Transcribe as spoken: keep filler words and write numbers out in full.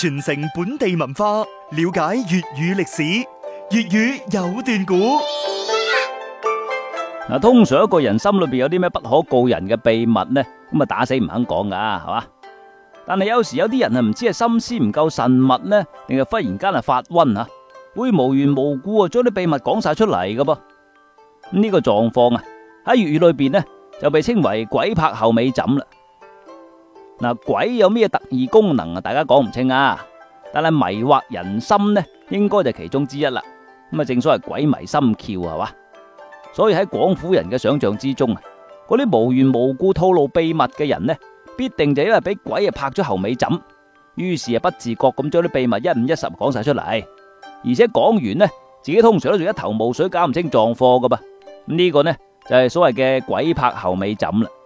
傳承本地文化，了解粵語歷史。粵語有段古。 嗱，通常一個人心裏邊有啲咩不可告人嘅秘密呢，咁啊打死唔肯講噶，係嘛？但係有時有啲人啊，唔知係心思唔夠慎密呢，定係忽然間係發瘟啊，會無緣無故啊將啲秘密講晒出嚟噶噃。呢個狀況啊喺粵語裏邊呢就被稱為鬼拍後尾枕啦。嗱，鬼有咩特異功能啊？大家講唔清啊，但係迷惑人心呢，應該就其中之一啦。咁啊，正所謂鬼迷心竅係嘛，所以喺廣府人嘅想象之中啊，嗰啲無緣無故透露秘密嘅人呢，必定就因為俾鬼啊拍咗後尾枕，於是啊不自覺咁將啲秘密一五一十講晒出嚟，而且講完呢，自己通常都仲一頭霧水，搞唔清狀況噶噃。呢個呢就係所謂嘅鬼拍後尾枕啦。